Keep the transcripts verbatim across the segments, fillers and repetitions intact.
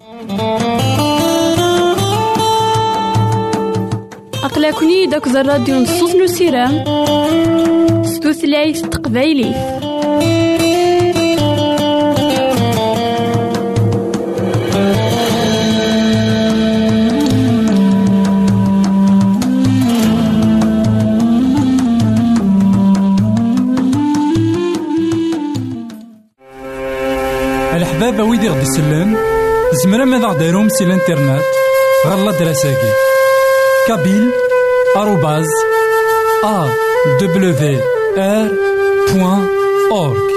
أقلكني داك الراديو نصوص نسيرام ستوثلايف تقبايلي. الحبابة ويدي غدي يسلم زمرا ماذا غديرهم سي الانترنت غالا دراساكي كابيل آروباز أ دبليو آر بوان أورك.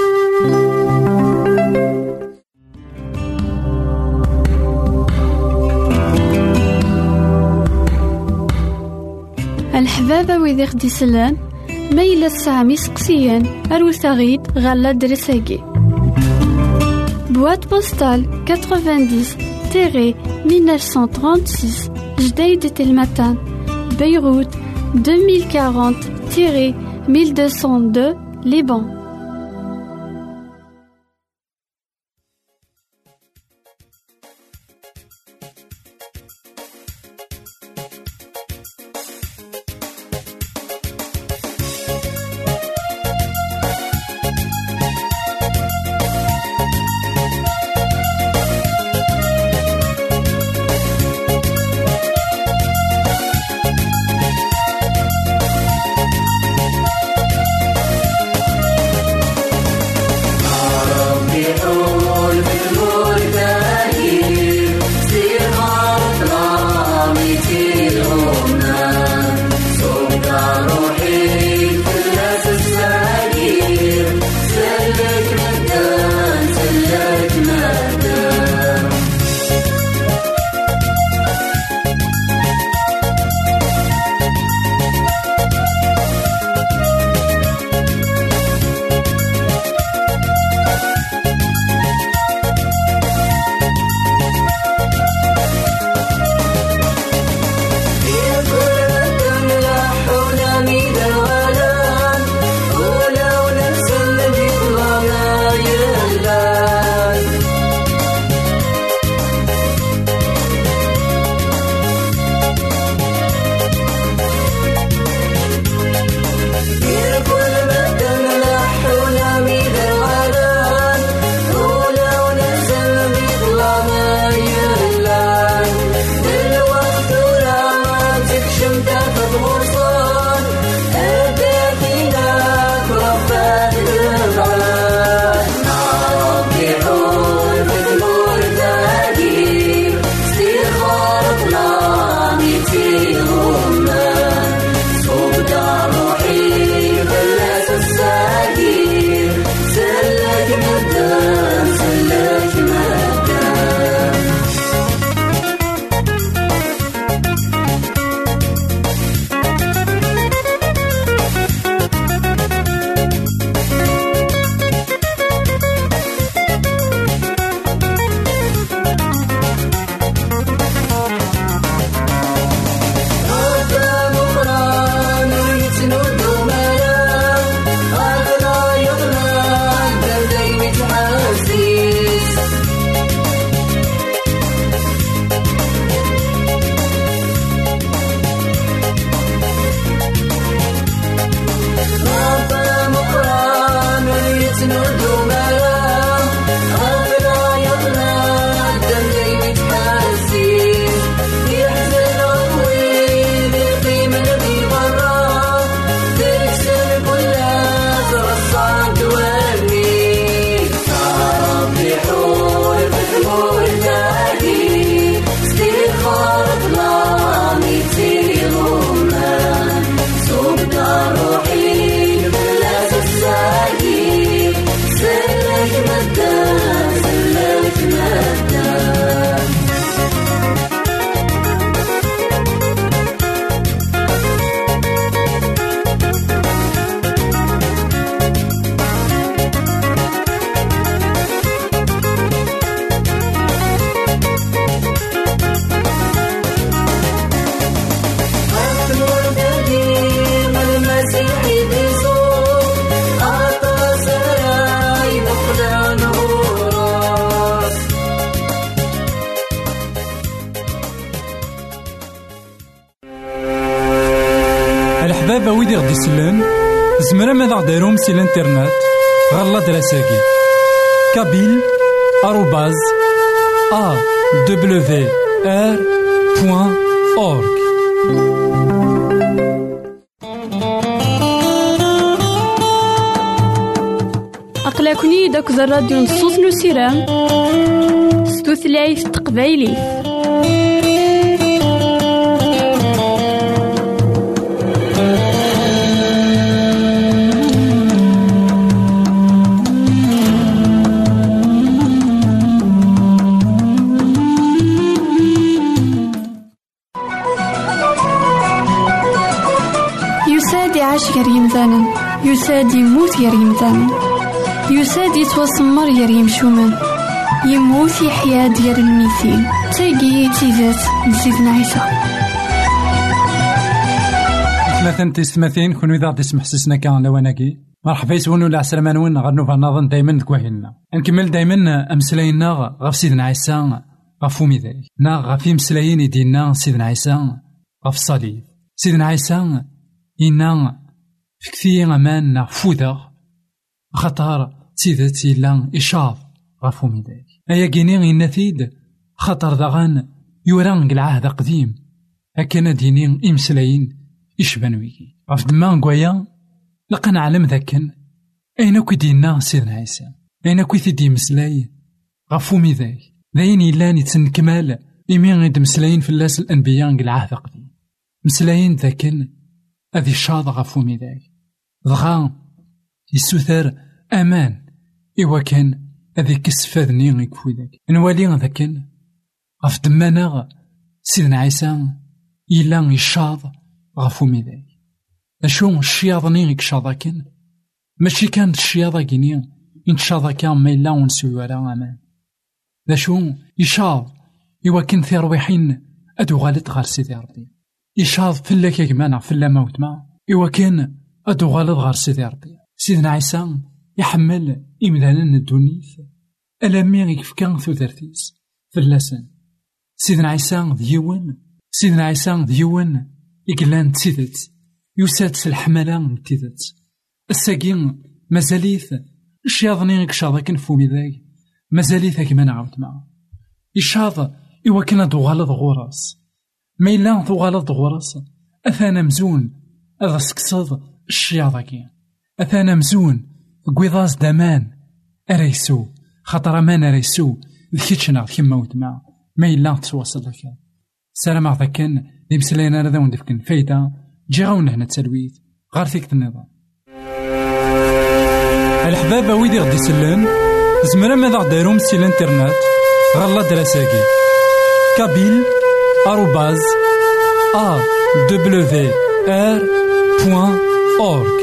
الحبابة ويدي غدي يسلم ميلا السامي سقسيان أروساغيد غالا دراساكي boîte postale quatre-vingt-dix mille neuf cent trente-six Jdeïd Telmatan Beyrouth deux mille quarante mille deux cent deux Liban. الحبابة ويدي غدي يسلن زمرا ماذا غديرهم سي الانترنت غالا دراساكي كابيل آروباز أ دبليو آر بوان أورك. أقلكني داك الراديو نصوص نسيران ستوثلايف تقبايلي. يساد يعيش غير يمثالا، يساد يموت غير يمثالا، يساد يتوسمر غير يمشومان، يموت يحيا ديال الميتين. تاقي تيزات لسيدنا عيسى. مثلا تسمثين كونو إذا غادي تسمح سسنا كان لواناكي مرحبا يسون ولا عسلامة وين غنوفا نظن دايما دكواهلنا نكمل دايما أمسلاينا غف سيدنا عيسى غف فومي ذاك نا غف يمسلايين يدينا سيدنا عيسى غف الصليب. سيدنا عيسى إنا في كثير أمان فوذا خطر سيدتي لان إشاف غف فومي ذاك أيا كيني النثيد خطر دغان يوران العهد قديم هكذا دينين إمسلايين إشبان ويكي غف دمان قويا لقا نعلم ذاكن أين كدينا سيدنا عيسى أين كيدي مسلاي غفومي ذاك ذاين يلان يتنكمال إمين غيد مسلايين في اللاس الأنبياء العهد قديم مسلايين ذاكن أذي شاض غفومي ذاك ضغا يسوثر أمان إوا كان أذي كسفاذني غيكفو ذاك نوالي ذاكن غف دمانا سيدنا عيسى يلان يشاض غفومي ذاك أشو الشياضني غيك شاضاكن ماشي كانت الشياضة كينيا إن شاضاكا ما إلا ونسوي ولا أمان أشو يشاض إوا كن ثرويحين أدو غالط غار سيدي ربي يشاض فلاك يجمانا فلا موت ما إوا كان أدو غالط غار سيدي ربي. سيدنا عيسى يحمل إمدانا الدونيث ألامي غيك فكان ثوثرتيس فلاسن. سيدنا عيسى ديون سيدنا عيسى ديون إقلان تسيدت يساد الحملة نتيذت الساقين مازاليث الشياضني غيك شاضاكن فومي ذاك مازاليث كما نعاود معاه يشاض إوا كان دوغالض غوراس ما إلا دوغالض غوراس أثانا مزون أذا سكصد الشياضاكي أثانا مزون قويضاز دامان أريسو خاطر أمان أريسو ذكيتشنا كيما ود معاه ما إلا تواصل لك سلام عضاكن دي مسلينا رذا وندفكن فايدة جي غاونا هنا تسلويت غار فيك النظام. الحبابة ويدي غدي يسلن زمرا ماذا غديرهم سي الانترنت غالا دراساكي كابيل آروباز أ دبليو آر بوان أورك.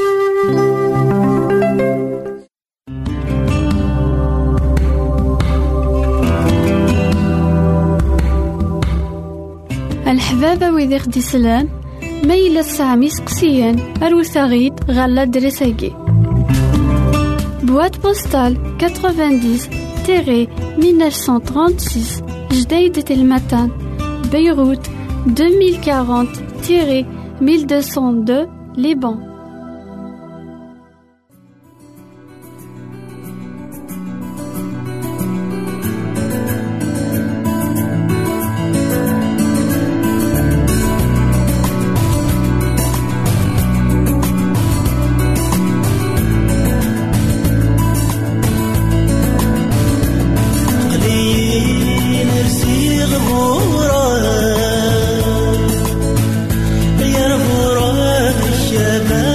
الحبابة ويدي غدي يسلن ما إلا سامي سقسيان أروثاغيد غالا دراساكي بواد بوستال تسعين مية وتسعمية وثلاثة وثلاثين جديدة المتان بيروت ألفين وأربعين ألف ومئتين واثنين لبنان. يا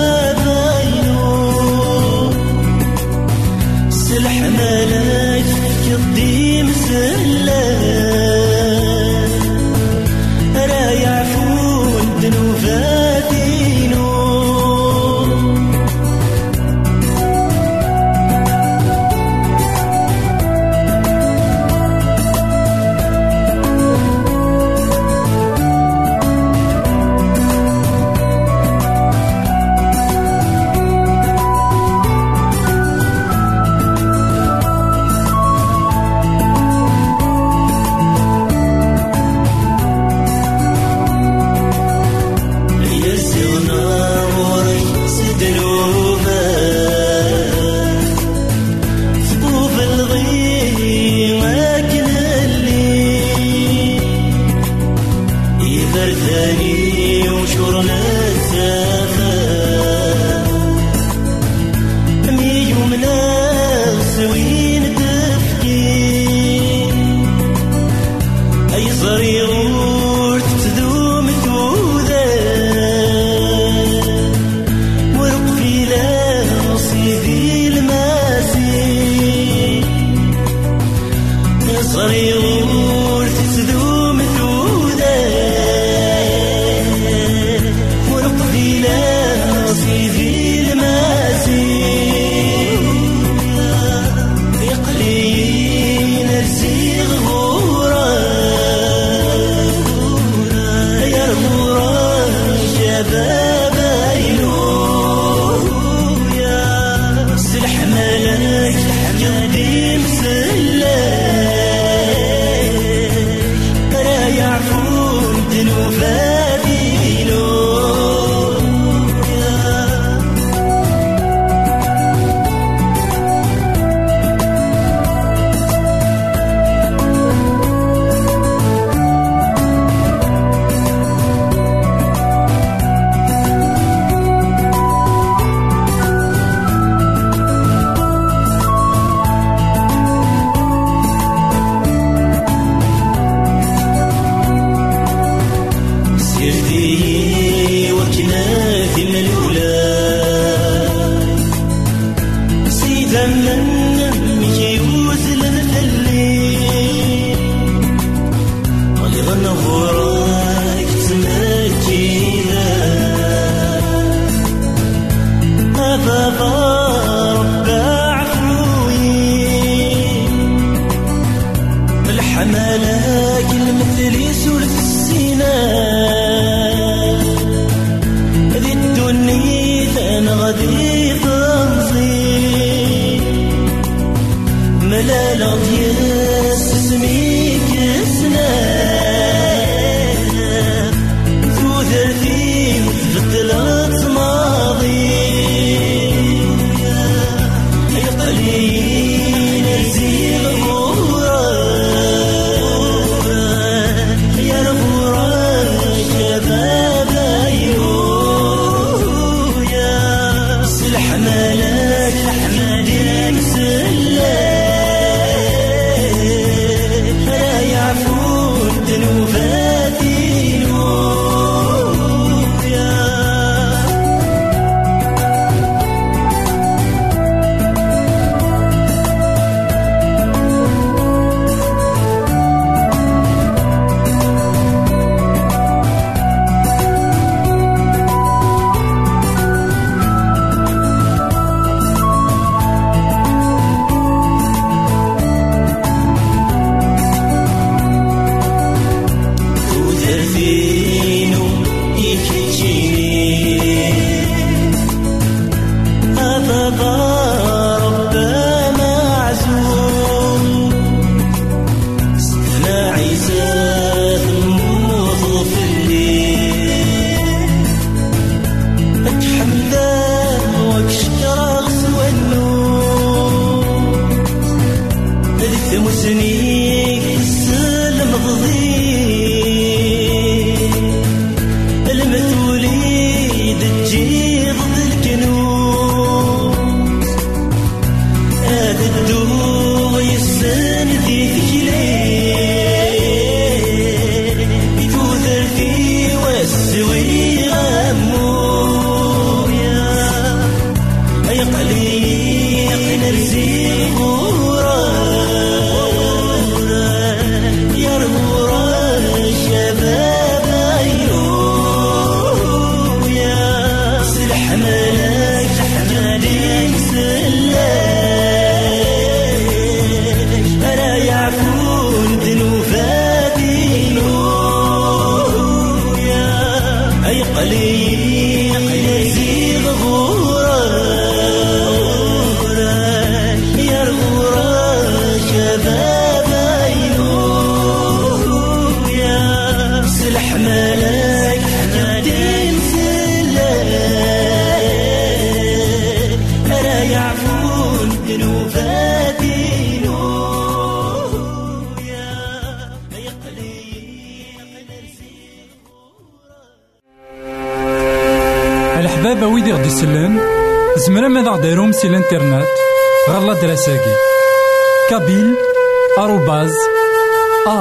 الحبابة ويدي غدي يسلم زمرا ماذا غديرهم سي الانترنت غالا دراساكي كابيل آروباز أ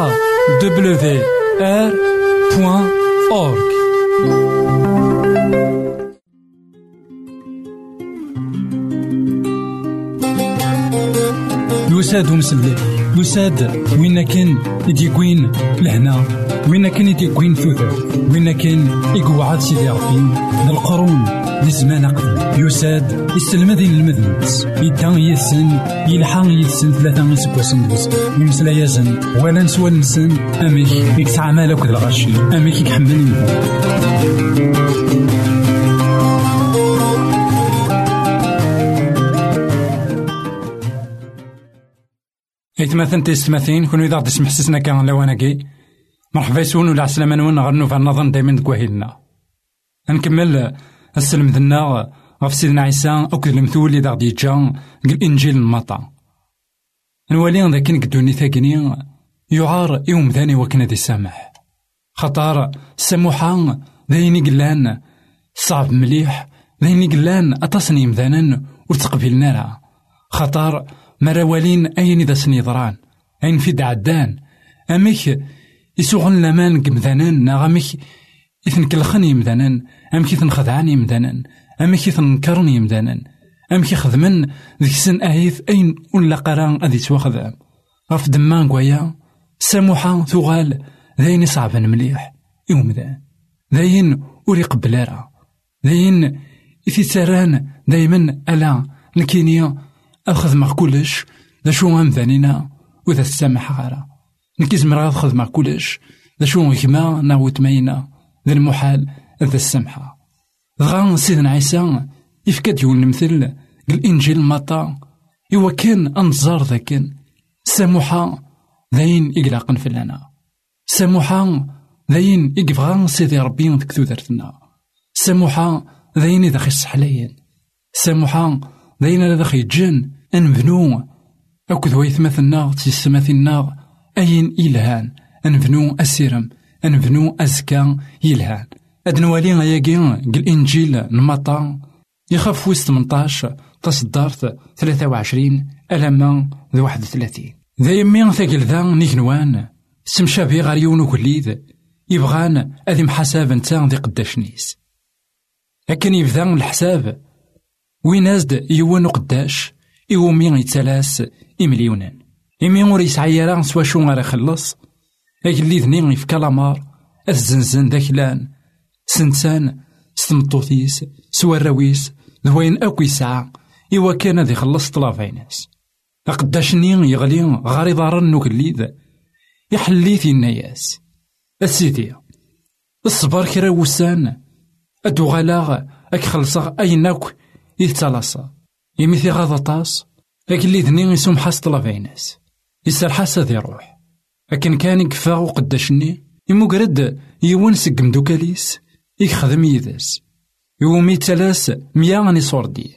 دبليو آر بوان أورغ. يساد ومسلي يساد وين كان يديكوين لهنا، وين كان يديكوين ثوثر، وين كان يقعد سيدي ربي للقرون لزمان قبل. يساد يستلمذين المذنبس يدان يسن يلحان يسن ثلاثة يسكوسن دوز يمسلا يزن ولا نسوى نسن أميك يكسع مالك ذا الغشي أميك يحملني. إثماثن تيستماثين كونو إذا غدي تسمح سسنا كان لواناكي مرحبا يسون ولا عسلامة نون غنو فالنظن دايما دكواهيلنا. نكمل السلم ذنا غف سيدنا عيسى أوكد المثول إذا غدي يجا الإنجيل المطا. نولي ذاك نقدوني ثاقني يعار يوم ثاني وكنا دي سامح خطار السموحة ذايني قلان صعب مليح ذايني قلان أتصني مذانا وتقبلنا راه خطار مراوالين أين إذا سنيضران أين في دعدان أميك يسوغن لمان كمذانان ناغميك إثن كالخني مذانان أمك إثن خذعاني مذانان أمك إثن نكرني مذانان أمك خذمن ذيك سن أهيث أين ولا قران أذي تواخذ غف دمان قويا ساموحا ثغال ذاين صعبا مليح يوم ذا ذاين وري قبلارا ذاين إثي ساران دايما ألا نكينيا أخذ مع كلش ذا شو أمذانينا وذا السامح غارا نكيز مرا أخذ مع كلش ذا شو غيما ناوت ماينا ذا المحال ذا السامحة. غان سيدنا عيسى يفكاد يقول المثل الإنجيل مطا إوا كان أنظار ذاكن ساموحا ذاين إقلاقن فلنا ساموحا ذاين إقفغان سيدي ربي ذكتو درتنا ساموحا ذاين إذا خيص حلاين ساموحا ذاين إذا خي جن أنفنو أكد ويثمثنا تيسمثنا أين إلهان أنفنو أسيرم أنفنو أزكا يلهان أدنوالي غياقين الإنجيل نمطا يخاف ويس ثمنطاش تصدرت ثلاثة وعشرين ألما ذو واحد وثلاثين ذا يمين ثاقل ذا نيكنوان سمشابي غاريون وكليد يبغان أذي محاساب نتا ذي قداشنيس لكن يبذا الحساب وين أزد يوان قداش يومين يتسلاس إمليونان إمي ور يسعيرا سوا شو غير يخلص أجلي ذنين يفكا لامار الزنزن داكلان سنسان ستمطوثيس سوا الرويس ذوين أكو يسعى إوا كان ذي خلص طلافيناس أقداشني يغلي غاري ضارن نوكليد يحليثي الناياس السيدي الصبر كرا وسان أدو غلاغ أك خلصا أيناك يتلاصا يميثي غاضطاس أكلي ذني يسوم حاس طلافيناس يسار حاسا ذي روح لكن كان يكفاغو قداشني يمقرد يوان سقم دوكاليس يخدم يداس يومي تلاس مياني صوردي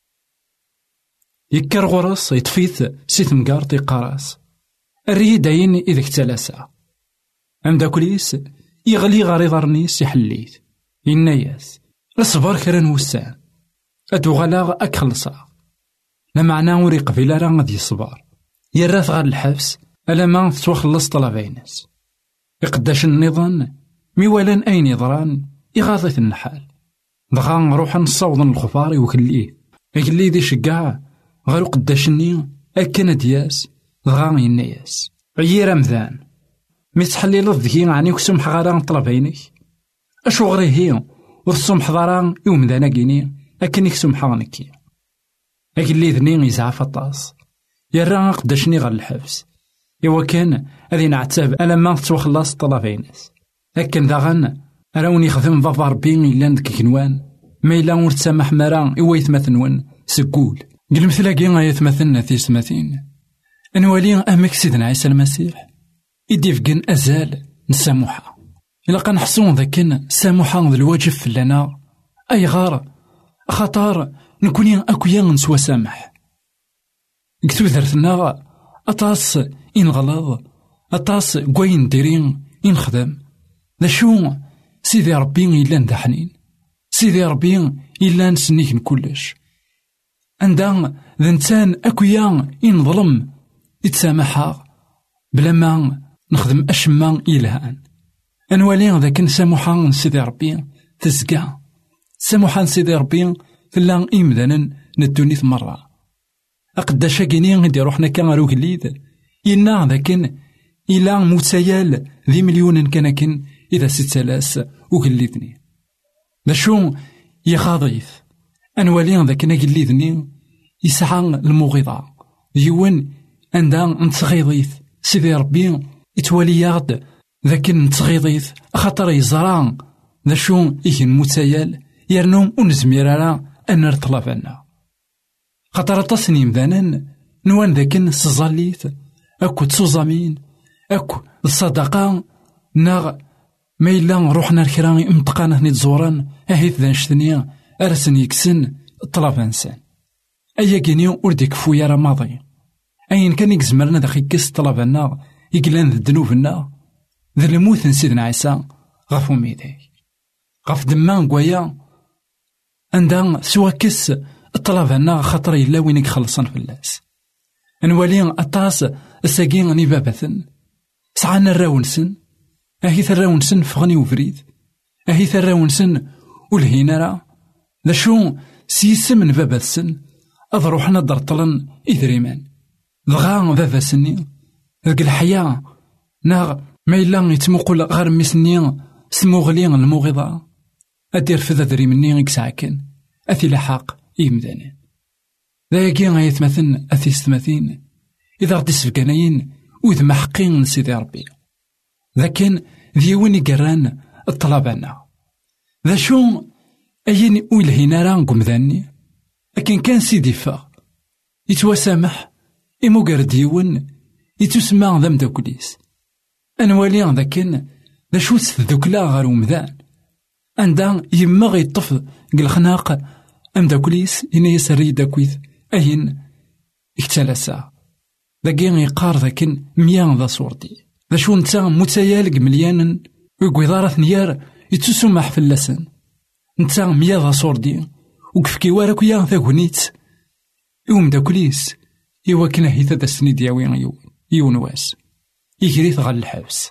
يكر غرس يطفيث سيث مقارط يقاراس الريد داين إذا اكتلاسا أم داكوليس يغلي غاري ضرنيس يحليث يناياس الصبر كران وسان أدو غلاغ أكخلصا لمعنى وري قبيلة راه غادي يصبر يراث غار الحبس ألا ما تتوخلص طلبينس يقداش النظام ميوالان أين يضران يغاضي النحال دغا نروح نصوض الخفار وكليه يكلي ذي شقاع غير قداشني أكنا دياس دغا يناياس عيير أمذان ميتحلي لذكي عني وكسمح غاران طلبينك أشو غري هي وثسمح ضران يوم ذانا كيني أكن يكسمح غنكي أكلي ذني يزعف الطاس يرى قداشني غير الحبس إوا كان أذي نعتاب ألا ما تتوخلص طلبينس لكن داغن راوني خدم ضفار بين إلا ندك كنوان ما إلا ورتسامح مرا إوا يتمثنون سكول قل مثلاقي غا يتمثلنا في سماثين أنوالي أمك سيدنا عيسى المسيح يديفقن أزال نساموحا إلا قنحصون ذاكن ساموحا ذا الواجب فلنا أي غار خطار نكوني أكويا نسوى سامح قلتو ذرتنا أطاس إن غلاظ أطاس قوين ديرين إن خدم ذا شو سيدي ربي إلا ندا حنين سيدي ربي إلا نسنيك نكلش عندها ذا نتان أكويا إن ظلم يتسامحا بلا ما نخدم أشما إلهان أنوالي ذاك سامحان سيدي ربي تزكى سامحان سيدي ربي فلا إمدانا ندوني مرة أقداشا كيني غدي روحنا كان غير وكليد إنا ذاكن إلا موتسيال ذي مليون كان إذا ست لاس وكليدني ذا شو يخاضيث أنوالي ذاك نقليدني يسعى المغيضة يون عندها نتغيضيث سيدي ربي يتوالي يغد ذاك نتغيضيث خاطر يزرع ذا شو إيكن موتسيال يرنوم ونزميرالا أن نرطلب عنا خاطر تصنيم ذانا نوان ذاكن سزاليث أكو تسوزامين أكو الصدقة ناغ ما إلا روحنا الكرامي امتقانا نتزوران أهيث ذا نشتني أرسن يكسن الطلب إنسان أيا كينيو وردك فويا راه ماضي أين كان يكزمرنا داخل كيس طلبنا يقلان ذا الذنوبنا ذا الموت نسيدنا عيسى غفو ميداي غف دمان قويا عندها سوا كيس الطلبنا خاطر إلا وين يخلصن في اللاس نوالي أطاس الساقين غني بابثن سعانا الراونسن أهيث الراونسن فغني وفريد أهيث الراونسن والهينارا ذا شو سيسمن بابثن أضروحنا درطلن إذريمان ضغا بابا سني ذاك الحياة ناغ ما إلا يتمقل غير مسني سموغلين الموغضة أدير في ذا دري مني يكسعكن أثي لحاق إيمدانا ذاكي غيتمثل أثي ستماثين إذا غدي سفقانين وإذ محقين سيدي ربي لكن ذي وين يقران الطلبانا ذا شو أين ويلهينا راه قمذاني لكن كان سيدي فا يتوسامح إمو قرد ديون يتسمع ذا مداكليس أنوالي ذاكن ذا شو ستذوكلا غير ومذان عندها يما غيطف قل خناق أمداكليس إني يسري داكويث أين اكتلاسا ذاكين يقار ذاكن ميان ذا صورتي ذا شو نتا متيالق مليانا ويقوي ثنيار يتسمح في اللسن نتا ميا ذا صوردي وكفكي واراك يا ذا كونيت يوم داكليس إوا كنا هيثا دا سني دياوين يون يون واس يجريث غال الحبس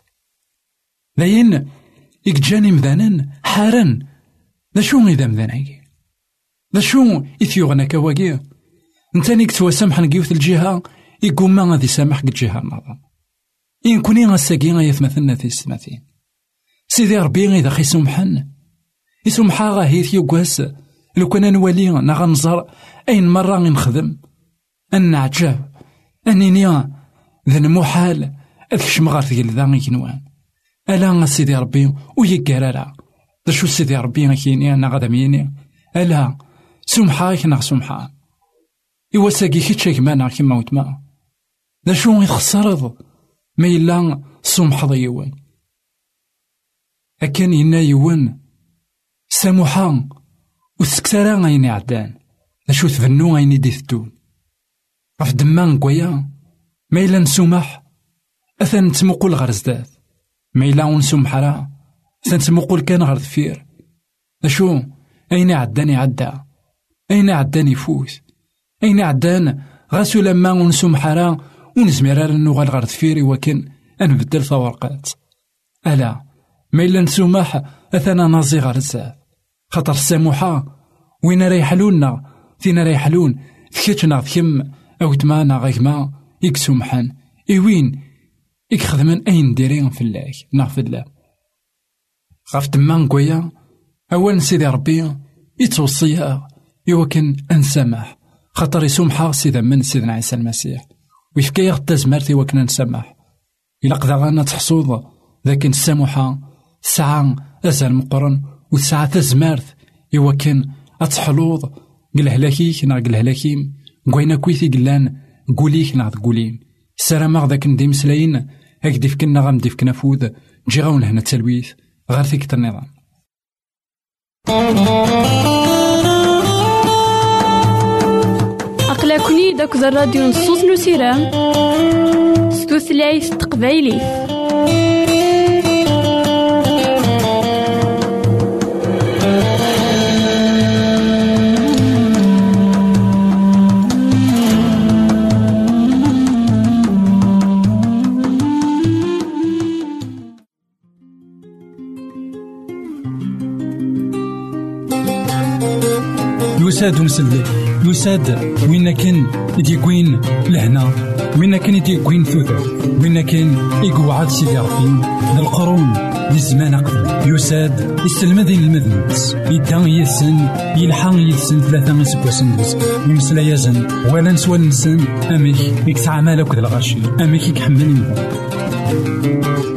لين يكجاني مذانا حارن ذا شو إذا مذاناكي ذا شو إثيوغنا كواكي نتاني كتواسامح نقيوث الجهة يقوم ما غادي سامح الجهة النظام إن كوني غاساكي غيثمثلنا في السماثين سيدي ربي إذا خي سمحن يسمحا غاهيث يوكواس لو كان نولي نغنزر أين مرة غنخدم أن عجاب أنني ذا المحال أذكش غار ثقل ذا غيكنوان ألا سيدي ربي ويقرارا ذا شو سيدي ربي غيكيني أنا غادا ميني ألا سمحا غيكنا سمحا إوا ساقي كيتشاك مانا كيما وتما ذا شو يخسرض ما إلا سمح ضيوان أكان ينا يوان سامحا وسكتارا غيني عدان ذا شو تفنو غيني ديثتون غف دمان قويا ما إلا نسمح أثن تمقل غير زداد ما إلا نسمح راه أثن تمقل كان غير ذفير أشو أين عداني عدا أين عداني فوت أين عدان غاسو لما نسمح راه ونزمير نوغال غير ذفيري وكن أنبدل ثورقات ألا ما إلا نسمح أثنا نازي غير زاد خاطر الساموحة وين ريحلونا فينا ريحلون ثكتنا ثكم أو تمانا غيكما يكسومحان إيوين يكخدمن أين ديرين في الله نغفر الله غاف دمان قويا أولا سيدي ربي يتوصيها يوكن أنسامح خاطر يسومحا سيدا من سيدنا عيسى المسيح ويفكا غدا زمارتي وكنا نسامح إلا قدا غانا تحصوض لكن السامحة ساعة أزال مقرن وساعة تزمارت يوكن أتحلوض قل هلاكيك نا قل هلاكيم قوينا كويثي قلان قوليك نا قوليم السلام غداك نديم سلاين هكدي فكنا غامدي فكنا فود نجي غاون هنا التلويث غير فيك النظام أقلكني داك الراديو نصوص نسيرام ستوثلايف تقبايلي يساد ومسلي يساد وين كان يديكوين لهنا وين كان يديكوين ثوثر وين كان يقعد سيدي ربي ذا القرون للزمان أقدم يساد يستلمذين المذنبس يدان يسن يلحان يسن ثلاثة مسكوسن يمسلا يزن ولا نسوى نسن أميك يكسع مالك ذا الغاشي أميك يكحمل